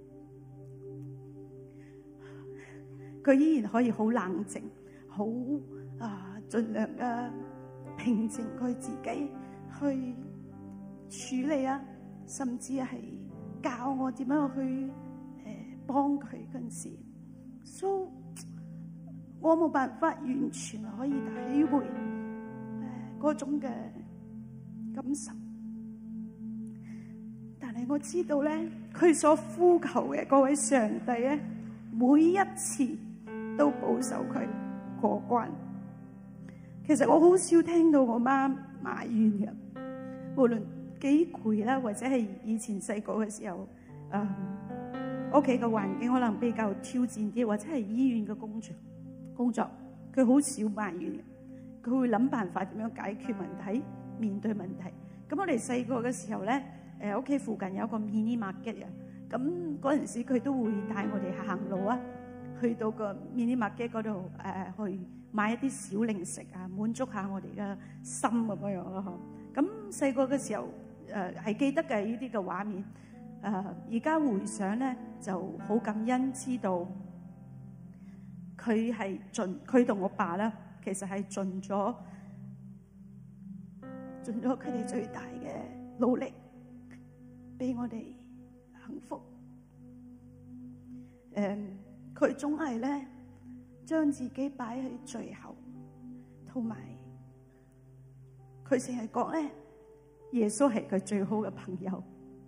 [SPEAKER 1] 佢依然可以好冷靜，好啊，盡量啊平靜佢自己。
[SPEAKER 4] 去處理啊，甚至係教我點樣去誒幫佢嗰陣時，所以我冇辦法完全可以體會誒嗰種嘅感受，但係我知道咧，佢所呼求嘅嗰位上帝咧，每一次都保守佢過關。其實我好少聽到我媽埋怨嘅，無論幾攰啦，或者係以前細個嘅時候，誒屋企嘅環境可能比較挑戰啲，或者係醫院嘅工作工作，佢好少埋怨嘅，佢會諗辦法點樣解決問題、面對問題。咁我哋細個嘅時候咧，誒屋企附近有一個 mini market 啊，咁嗰陣時佢都會帶我哋行路啊，去到個 mini market 嗰度誒去買一啲小零食啊，滿足下我哋嘅心咁樣樣咯，嗬。咁細個嘅時候誒係記得嘅呢啲嘅畫面，誒而家回想咧就好感恩，知道佢係盡佢同我爸咧，其實係盡咗盡咗佢哋最大嘅努力，俾我哋幸福。誒，佢總係咧將自己擺喺最後，同埋佢成日講咧，耶穌係佢最好嘅朋友。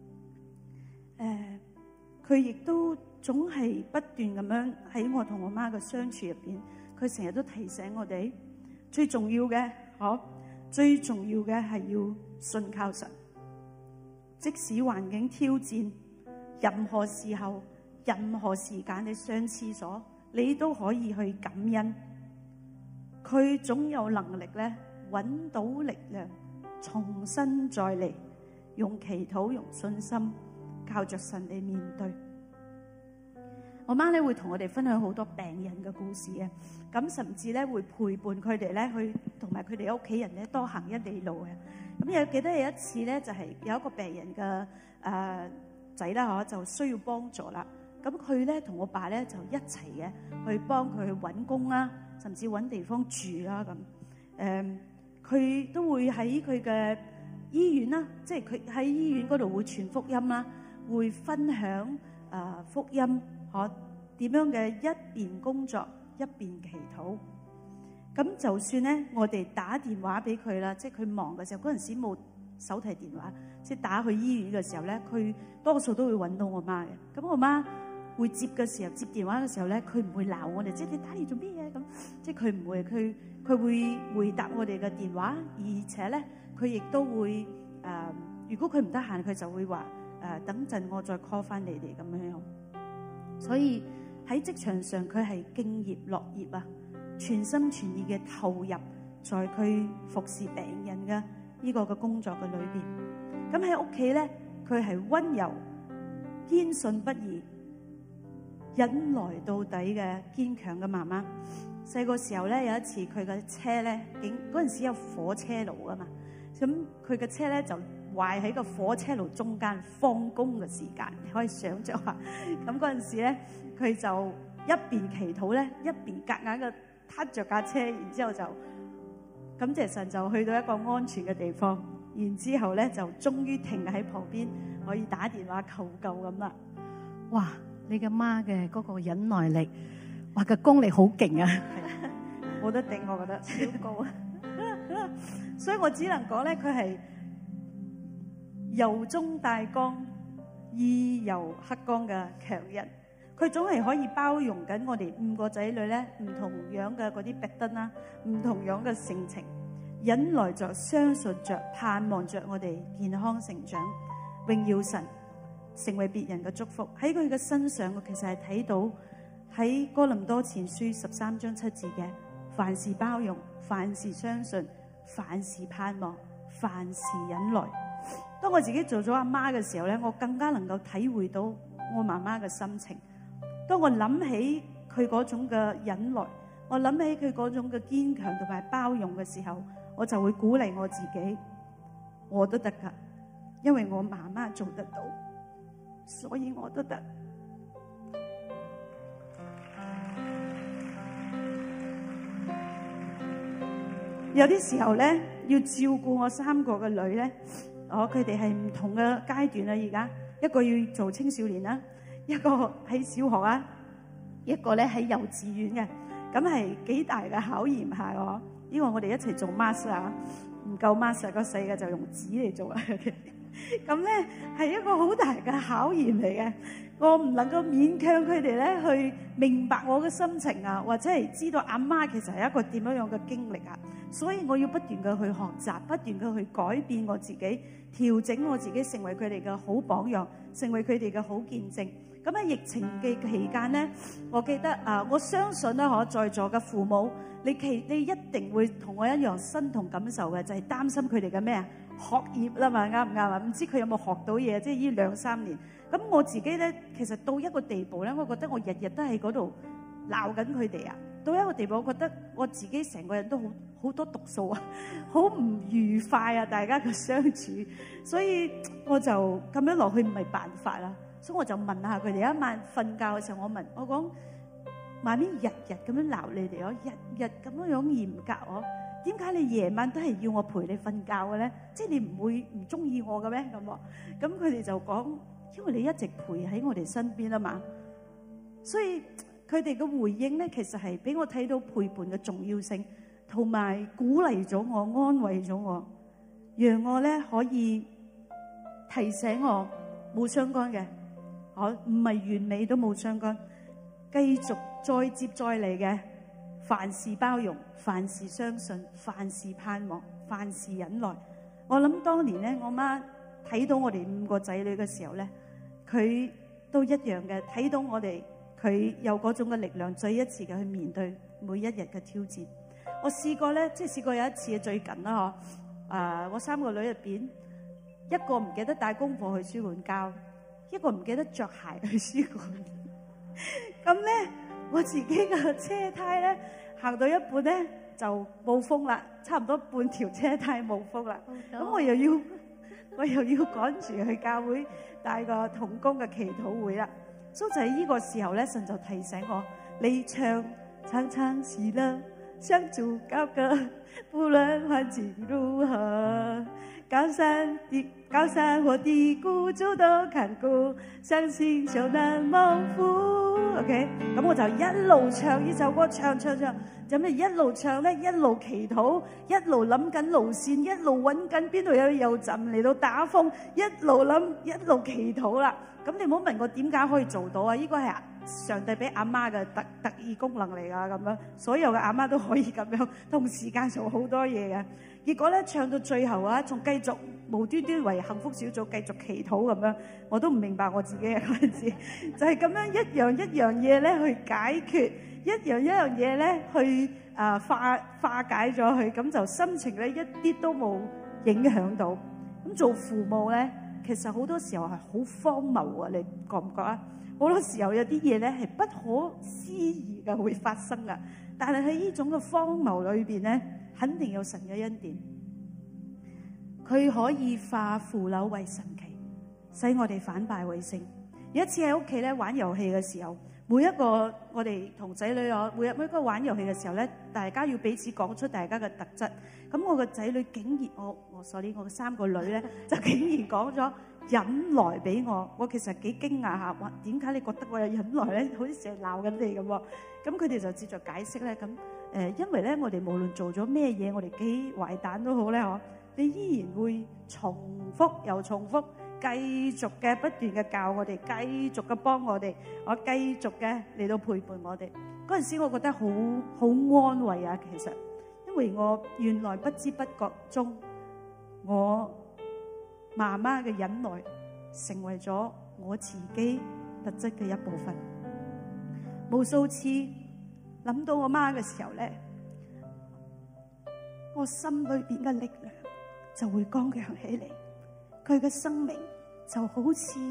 [SPEAKER 4] 誒，佢亦都總係不斷咁樣喺我同我媽嘅相處入邊，佢成日都提醒我哋，最重要嘅，嗬，最重要嘅係要信靠神。即使環境挑戰，任何時候、任何時間你上廁所，你都可以去感恩。佢總有能力咧，揾到力量，重新再嚟，用祈禱、用信心，靠着神嚟面對。我媽咧會同我哋分享好多病人嘅故事嘅，咁甚至咧會陪伴佢哋咧去，同埋佢哋屋企人咧多行一里路嘅。咁有記得有一次咧，就係、是、有一個病人嘅誒仔啦，嗬，就需要幫助啦。咁佢咧同我爸咧就一齊嘅去幫佢去揾工啦，甚至揾地方住啦咁。誒，佢、呃、都會喺佢嘅醫院啦，即係佢喺醫院嗰度會傳福音啦，會分享誒、呃、福音，可點樣嘅一邊工作一邊祈禱。咁就算咧，我哋打電話俾佢啦，即係佢忙嘅時候，嗰陣時冇手提電話，即係打去醫院嘅時候咧，佢多數都會揾到我媽嘅。咁我媽會接嘅時候，接電話嘅時候咧，佢唔會鬧我哋，即係你打嚟做咩嘢咁，即係佢唔會，佢佢會回答我哋嘅電話，而且咧佢亦都會誒、呃，如果佢唔得閒，佢就會話誒、呃、等陣我再 call 翻你哋咁樣樣。所以喺職場上，佢係敬業樂業啊！全心全意嘅投入在佢服侍病人嘅呢個嘅工作嘅裏邊。咁喺屋企咧，佢係溫柔、堅信不疑、忍耐到底嘅堅強嘅媽媽。細個時候咧，有一次佢嘅車咧，竟嗰陣時有火車路啊嘛，咁佢嘅車咧就壞喺個火車路中間，放工嘅時間，你可以想象下。咁嗰陣時咧，佢就一邊祈禱咧，一邊夾硬嘅撻着架車，然之後就感謝神，就去到一個安全嘅地方，然之後咧就終於停喺旁邊，可以打電話求救咁啦。
[SPEAKER 3] 哇！你嘅媽嘅嗰個忍耐力，哇，個功力好勁啊！
[SPEAKER 4] 冇得頂，我覺得超高。所以我只能講咧，佢係柔中帶剛、義柔克剛嘅強人。佢總係可以包容緊我哋五個仔女咧，唔同樣嘅嗰啲弊端啦，唔同樣嘅性情，忍耐着、相信着、盼望着我哋健康成長，榮耀神，成為別人嘅祝福。喺佢嘅身上，我其實係睇到喺哥林多前書十三章七節嘅，凡事包容，凡事相信，凡事盼望，凡事忍耐。當我自己做咗阿媽嘅時候咧，我更加能夠體會到我媽媽嘅心情。當我諗起佢嗰種嘅忍耐，我諗起佢嗰種嘅堅強同埋包容嘅時候，我就會鼓勵我自己，我都得㗎，因為我媽媽做得到，所以我都得。 有啲時候咧要照顧我三個嘅女咧，我佢哋係唔同嘅階段啦。而家一個要做青少年啦，一個喺小學啊，一個咧喺幼稚園嘅，咁係幾大嘅考驗下我。因為我哋一齊做 master 啊，唔夠 master 個細嘅就用紙嚟做啦。咁咧係一個好大嘅考驗嚟嘅，我唔能夠勉強佢哋咧去明白我嘅心情啊，或者係知道阿媽其實係一個點樣樣嘅經歷啊，所以我要不斷嘅去學習，不斷嘅去改變我自己，調整我自己，成為佢哋嘅好榜樣，成為佢哋嘅好見證。咁喺疫情嘅期間咧，我記得啊，我相信咧，我在座嘅父母，你其你一定會同我一樣身同感受嘅，就係擔心佢哋嘅咩啊學業啦嘛，啱唔啱啊？唔知佢有冇學到嘢？即係呢兩三年。咁我自己咧，其實到一個地步咧，我覺得我日日都喺嗰度鬧緊佢哋啊。到一個地步，我覺得我自己成個人都好好多毒素啊，好唔愉快啊，大家嘅相處。所以我就咁樣落去唔係辦法啦。所以我就問下佢哋，一晚瞓覺嘅時候，我問我講：媽咪日日咁樣鬧你哋，我日日咁樣樣嚴格我，點解你夜晚都係要我陪你瞓覺嘅咧？即係你唔會唔中意我嘅咩？咁喎，咁佢哋就講：因為你一直陪喺我哋身邊啊嘛。所以佢哋嘅回應咧，其實係俾我睇到陪伴嘅重要性，同埋鼓勵咗我、安慰咗我，讓我咧可以提醒我冇相干嘅。我唔係完美都冇相干，繼續再接再厲嘅，凡事包容，凡事相信，凡事盼望，凡事忍耐。我諗當年咧，我媽睇到我哋五個仔女嘅時候咧，佢都一樣嘅，睇到我哋佢有嗰種嘅力量，再一次嘅去面對每一日嘅挑戰。我試過咧，即係試過有一次最近啦嗬，啊，我三個女入邊一個唔記得帶功課去書館交。一個唔記得着鞋去書館，咁咧我自己嘅車胎咧行到一半咧就冇風啦，差唔多半條車胎冇風啦。咁我又要我又要趕住去教會帶個同工嘅祈禱會啦。所以就喺呢個時候咧，神就提醒我：你唱唱唱是啦，相助交歌，無論環境如何。高山的高山或低谷，主都看顧，相信就能蒙福。OK， 咁我就一路唱呢首歌，唱唱唱，就咩一路唱咧，一路祈禱，一路諗緊路線，一路揾緊邊度有油站嚟到打風，一路諗一路祈禱啦。咁你唔好問我點解可以做到啊？呢個係上帝俾阿媽嘅特特異功能嚟噶，咁樣所有嘅阿媽都可以咁樣同時間做好多嘢嘅。結果咧唱到最後啊，仲繼續無端端為幸福小組繼續祈禱咁樣，我都唔明白我自己嘅嗰陣時，就係咁樣一樣一樣嘢咧去解決，一樣一樣嘢咧去啊化化解咗佢，咁就心情咧一啲都冇影響到。咁做父母咧，其實好多時候係好荒謬啊！你覺唔覺啊？好多時候有啲嘢咧係不可思議嘅會發生噶，但係喺呢種嘅荒謬裏邊咧，肯定有神嘅恩典，佢可以化腐朽為神奇，使我哋反敗為勝。有一次喺屋企咧玩遊戲嘅時候，每一個我哋同仔女我每日每一個玩遊戲嘅時候咧，大家要彼此講出大家嘅特質。咁我個仔女竟然我我 sorry 我嘅三個女咧就竟然講咗忍耐俾我，我其實幾驚訝下，哇！點解你覺得我有忍耐咧？好似成日鬧緊你咁喎。咁佢哋就接著解釋咧，咁誒，因為咧我哋無論做咗咩嘢，我哋幾壞蛋都好咧，嗬，你依然會重複又重複，繼續嘅不斷嘅教我哋，繼續嘅幫我哋，我繼續嘅嚟到陪伴我哋。嗰陣時我覺得好好安慰啊，其實，因為我原來不知不覺中，我媽媽嘅忍耐成為咗我自己特質嘅一部分。無數次諗到我媽嘅時候咧，我心裏邊嘅力量就會剛強起嚟，佢嘅生命就好似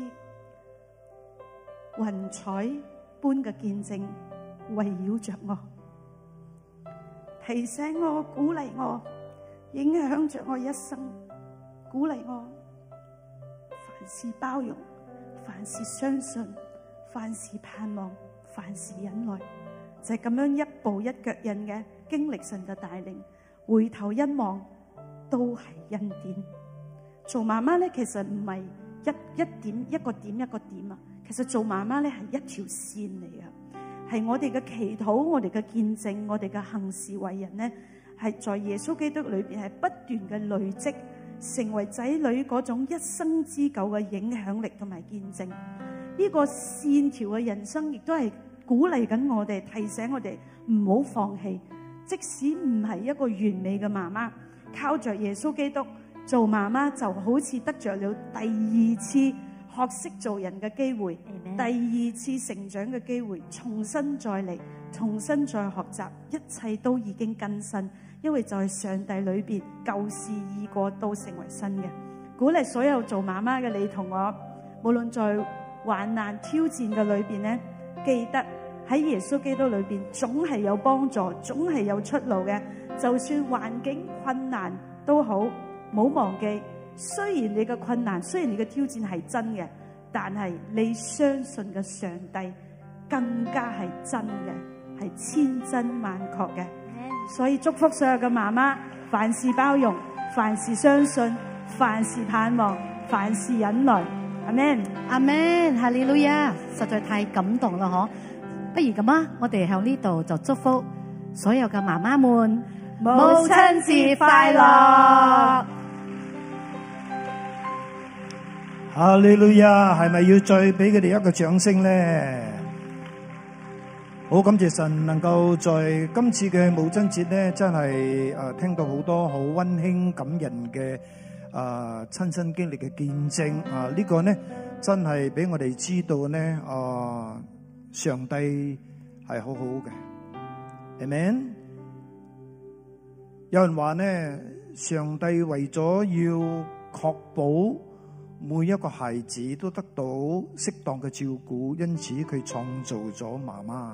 [SPEAKER 4] 雲彩般嘅見證圍繞着我，提醒我、鼓勵我，影響着我一生，鼓勵我凡事包容，凡事相信，凡事盼望，凡事忍耐，就係咁樣一步一腳印嘅經歷神嘅帶領。 回頭一望都係恩典。做媽媽咧，其實唔係一一點一個點一個點啊，其實做媽媽咧係一條線嚟嘅，係我哋嘅祈禱、我哋嘅見證、我哋嘅行事為人咧，係在耶穌基督裏邊係不斷嘅累積，成為仔女嗰種一生之久嘅影響力同埋見證。呢個線條嘅人生，亦都係鼓勵緊我哋，提醒我哋唔好放棄。即使唔係一個完美嘅媽媽，靠着耶穌基督做媽媽，就好似得着了第二次學識做人嘅機會，
[SPEAKER 2] Amen.
[SPEAKER 4] 第二次成長嘅機會，重新再嚟，重新再學習，一切都已經更新，因為就係上帝裏邊舊事已過，都成為新嘅。鼓勵所有做媽媽嘅你同我，無論在患難挑戰嘅裏邊呢，記得喺耶穌基督裏邊總係有幫助，總係有出路嘅。就算環境困難都好，唔好忘記，雖然你嘅困難，雖然你嘅挑戰係真嘅，但係你相信嘅上帝更加係真嘅，係千真萬確嘅。所以祝福所有嘅媽媽，凡事包容，凡事相信，凡事盼望，凡事忍耐。阿們，
[SPEAKER 3] 阿們，哈利路亞，實在太感動啦！嗬，不如咁啊，我哋喺呢度就祝福所有嘅媽媽們，
[SPEAKER 4] 母親節快樂！
[SPEAKER 5] 哈利路亞，係咪要再俾佢哋一個掌聲咧？好感謝神能夠在今次嘅母親節咧，真係誒聽到好多好溫馨感人嘅誒親身經歷嘅見證啊！呢個咧真係俾我哋知道咧，誒上帝係好好嘅，Amen。有人話咧，上帝為咗要確保每一個孩子都得到適當嘅照顧，因此佢創造咗媽媽。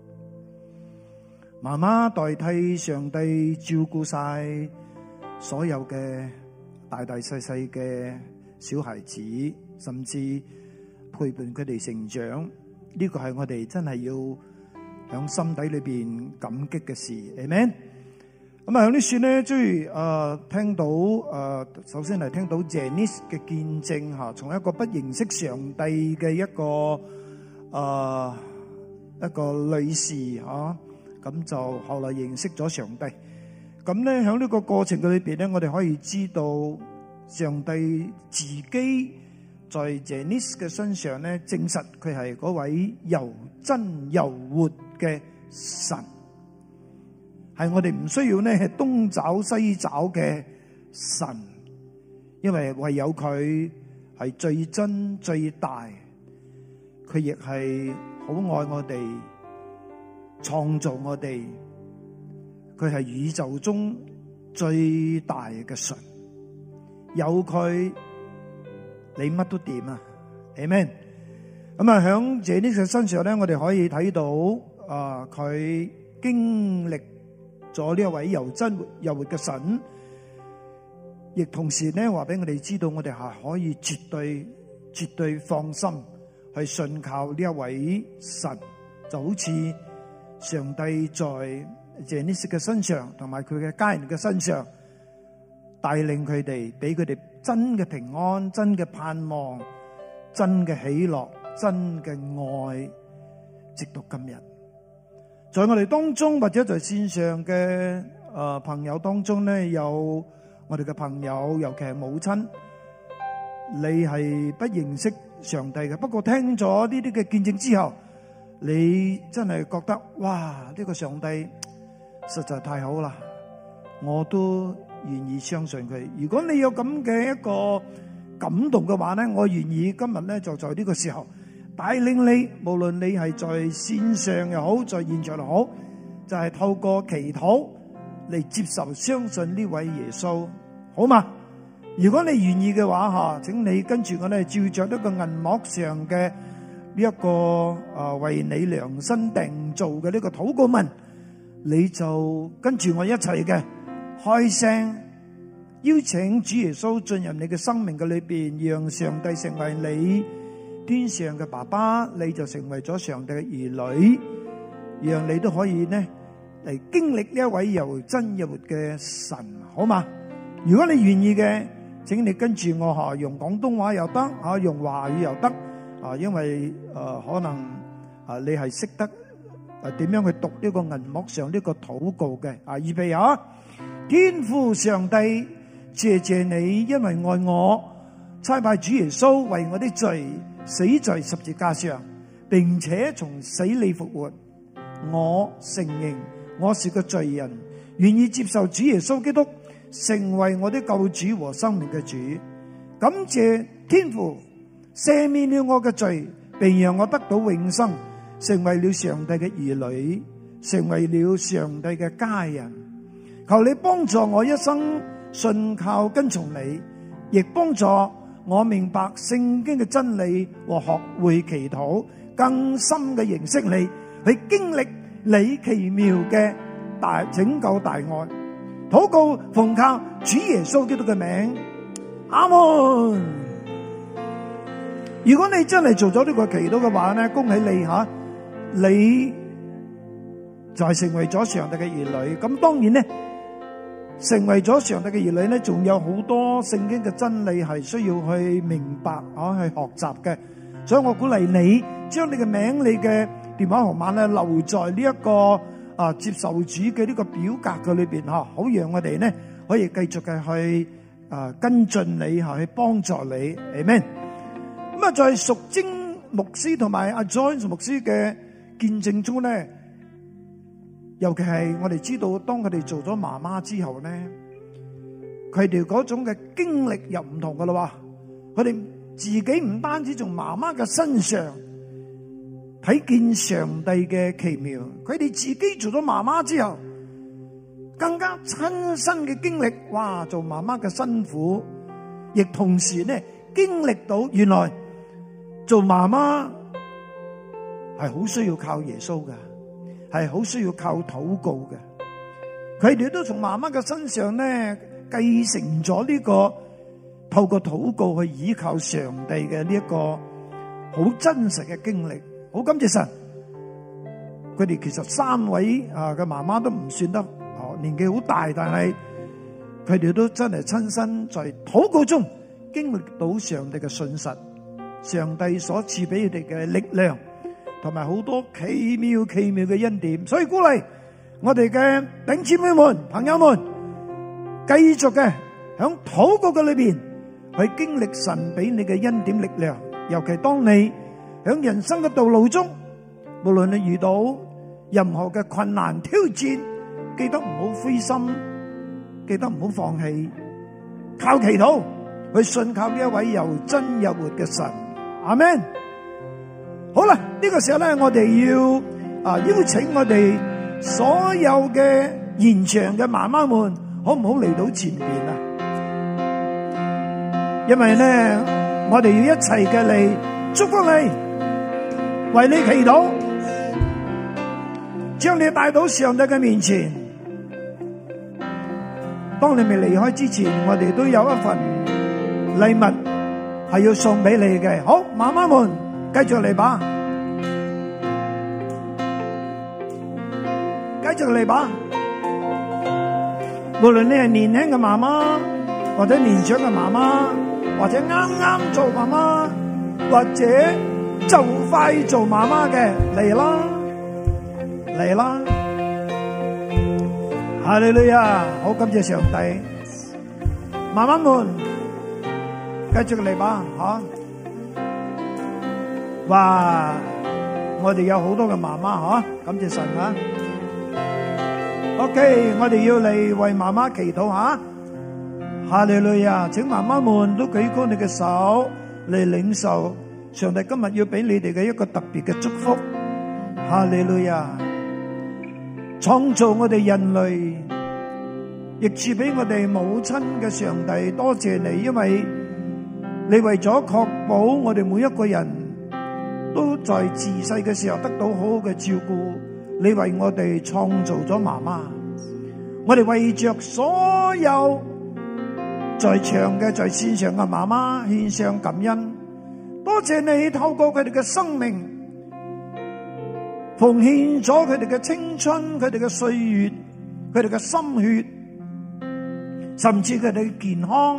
[SPEAKER 5] 媽媽代替上帝照顧晒所有嘅大大細細嘅小孩子，甚至陪伴佢哋成長。呢個係我哋真係要響心底裏邊感激嘅事。Amen。咁啊，響呢處咧，即係誒聽到誒、呃，首先係聽到 Janice 嘅見證嚇，從一個不認識上帝嘅一個誒、呃、一個女士嚇，咁、啊、就後來認識咗上帝。咁咧響呢個過程嘅裏邊咧，我哋可以知道上帝自己在 Janice 嘅身上咧，證實佢係嗰位又真又活嘅神。係我哋唔需要咧東找西找嘅神，因為唯有佢係最真最大，佢亦係好愛我哋，創造我哋，佢係宇宙中最大嘅神，有佢你乜都掂啊 Amen。咁啊響這呢個身上咧，我哋可以睇到啊佢經歷咗呢一位又真又活嘅神，亦同時咧話俾我哋知道，我哋係可以絕對絕對放心去信靠呢一位神，就好似上帝在Janice嘅身上同埋佢嘅家人嘅身上帶領佢哋，俾佢哋真嘅平安、真嘅盼望、真嘅喜樂、真嘅愛，直到今日。在我哋當中或者在線上嘅誒、呃、朋友當中咧，有我哋嘅朋友，尤其係母親，你係不認識上帝嘅，不過聽咗呢啲嘅見證之後，你真係覺得哇，呢、這個上帝實在太好啦，我都願意相信佢。如果你有咁嘅一個感動嘅話咧，我願意今日咧就在呢個時候帶領你，無論你係在線上又好，在現場又好，就係、是、透過祈禱嚟接受、相信呢位耶穌，好嘛？如果你願意嘅話吓，請你跟住我哋照着一個銀幕上嘅呢一個誒、呃、為你量身訂造嘅呢個禱告文，你就跟住我一齊嘅開聲邀請主耶穌進入你嘅生命嘅裏邊，讓上帝成為你天上嘅爸爸，你就成為咗上帝嘅兒女，讓你都可以呢嚟經歷呢一位又真又活嘅神，好嘛？如果你願意嘅，請你跟住我吓，用廣東話又得，吓用華語又得，啊，因為誒可能啊你係識得誒點樣去讀呢個銀幕上呢個禱告嘅，啊，預備啊！天父上帝，謝謝你，因為愛我，差派主耶穌為我的罪死在十字架上，並且從死裏復活。我承認我是個罪人，願意接受主耶穌基督成為我的救主和生命嘅主。感謝天父赦免了我嘅罪，並讓我得到永生，成為了上帝嘅兒女，成為了上帝嘅家人。求你幫助我一生信靠跟從你，亦幫助我明白聖經嘅真理和學會祈禱，更深嘅認識你，去經歷你奇妙嘅大拯救大愛。禱告奉靠主耶穌基督嘅名，阿門。如果你真係做咗呢個祈禱嘅話咧，恭喜你吓，你就係成為咗上帝嘅兒女。咁當然咧，成為咗上帝嘅兒女咧，仲有好多聖經嘅真理係需要去明白啊，去學習嘅。所以我鼓勵你將你嘅名、你嘅電話號碼咧留在呢一個啊接受主嘅呢個表格嘅裏邊吓，好讓我哋咧可以繼續嘅去啊跟進你吓，去幫助你。阿們。咁啊，在淑貞牧師同埋阿 Joyce 牧師嘅見證中咧，尤其係我哋知道，當佢哋做咗媽媽之後咧，佢哋嗰種嘅經歷又唔同噶啦。佢哋自己唔單止從媽媽嘅身上睇見上帝嘅奇妙，佢哋自己做咗媽媽之後，更加親身嘅經歷，哇！做媽媽嘅辛苦，亦同時咧經歷到原來做媽媽係好需要靠耶穌嘅，係好需要靠禱告嘅。佢哋都從媽媽嘅身上咧繼承咗呢個透過禱告去依靠上帝嘅呢一個好真實嘅經歷。好感謝神，佢哋其實三位啊嘅媽媽都唔算得哦年紀好大，但係佢哋都真係親身在禱告中經歷到上帝嘅信實，上帝所賜俾佢哋嘅力量，同埋好多奇妙奇妙嘅恩典。所以鼓勵我哋嘅弟兄姊妹們、朋友們，繼續嘅響禱告嘅裏邊去經歷神俾你嘅恩典力量。尤其當你響人生嘅道路中，無論你遇到任何嘅困難挑戰，記得唔好灰心，記得唔好放棄，靠祈禱去信靠呢一位又真又活嘅神。阿們。好啦，呢個時候咧，我哋要啊邀請我哋所有嘅現場嘅媽媽們，好唔好嚟到前邊啊？因為咧，我哋要一齊嘅嚟祝福你，為你祈禱，將你帶到上帝嘅面前。當你未離開之前，我哋都有一份禮物係要送俾你嘅。好，媽媽們繼續嚟吧，繼續嚟吧。無論你係年輕嘅媽媽，或者年長嘅媽媽，或者啱啱做媽媽，或者就快做媽媽嘅，嚟啦，嚟啦！哈利路亞！好感謝上帝，媽媽們繼續嚟吧，吓！哇！我哋有好多嘅媽媽，吓，感謝神啊！ OK， 我哋要嚟為媽媽祈禱吓。哈利路亞，請媽媽們都舉高你嘅手嚟領受上帝今日要俾你哋嘅一個特別嘅祝福。哈利路亞，創造我哋人類，亦賜俾我哋母親嘅上帝，多謝你，因為你為咗確保我哋每一個人都在自細嘅時候得到好好嘅照顧，你為我哋創造咗媽媽。我哋為着所有在場嘅、在線上嘅媽媽獻上感恩，多謝你透過佢哋嘅生命， 奉獻咗佢哋嘅青春、佢哋嘅歲月、佢哋嘅心血，甚至佢哋嘅健康，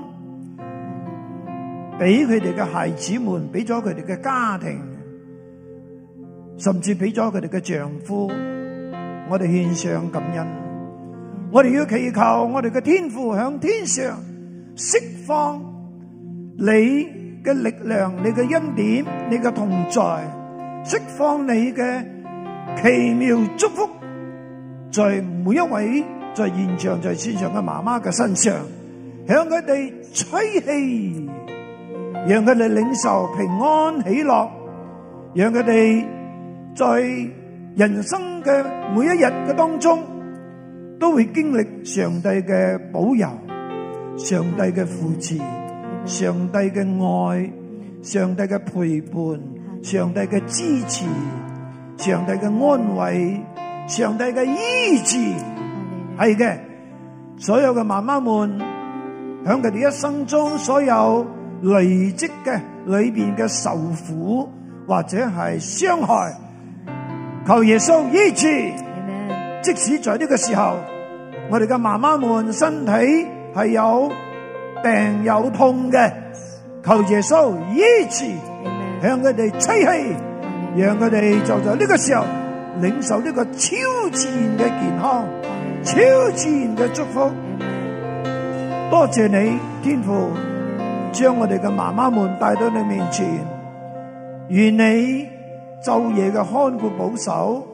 [SPEAKER 5] 俾佢哋嘅孩子們，俾咗佢哋嘅家庭，甚至俾咗佢哋嘅丈夫，我哋獻上感恩。我哋要祈求我哋嘅天父響天上釋放你嘅力量、你嘅恩典、你嘅同在，釋放你嘅奇妙祝福，在每一位在現場、在線上嘅媽媽嘅身上，向佢哋吹氣，讓佢哋領受平安喜樂，讓佢哋在人生嘅每一日嘅當中，都會經歷上帝嘅保佑、上帝嘅扶持、上帝嘅愛、上帝嘅陪伴、上帝嘅支持、上帝嘅安慰、上帝嘅醫治。係嘅，所有嘅媽媽們響佢哋一生中所有累積嘅裏邊嘅受苦或者係傷害，求耶穌醫治。即使在呢個時候，我哋嘅媽媽們身體係有病有痛嘅，求耶穌醫治，向佢哋吹氣，讓佢哋就在呢個時候領受呢個超自然嘅健康、超自然嘅祝福。多謝你，天父，將我哋嘅媽媽們帶到你面前，願你晝夜嘅看顧保守，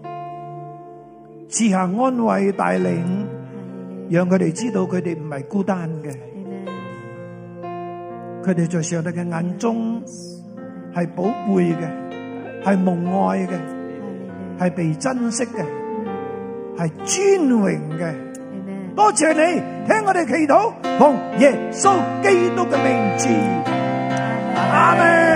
[SPEAKER 5] 賜下安慰帶領，讓佢哋知道佢哋唔係孤單嘅，佢哋在上帝嘅眼中係寶貝嘅，係蒙愛嘅，係被珍惜嘅，係尊榮嘅。多謝你聽我哋祈禱，奉耶穌基督嘅名字，阿們。